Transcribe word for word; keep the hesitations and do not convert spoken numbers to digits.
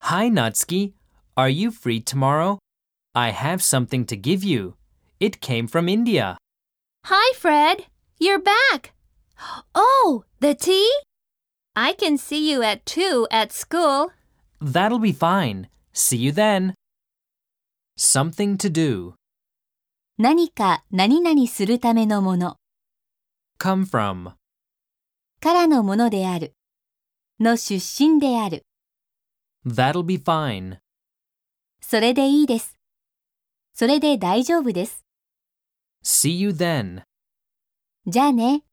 Hi, Natsuki. Are you free tomorrow? I have something to give you. It came from India. Hi, Fred. You're back. Oh, the tea? I can see you at two at school. That'll be fine. See you then. Something to do. 何か何々するためのもの Come from. からのものであるの出身である That'll be fine. それでいいです。それで大丈夫です。 See you then. じゃあね。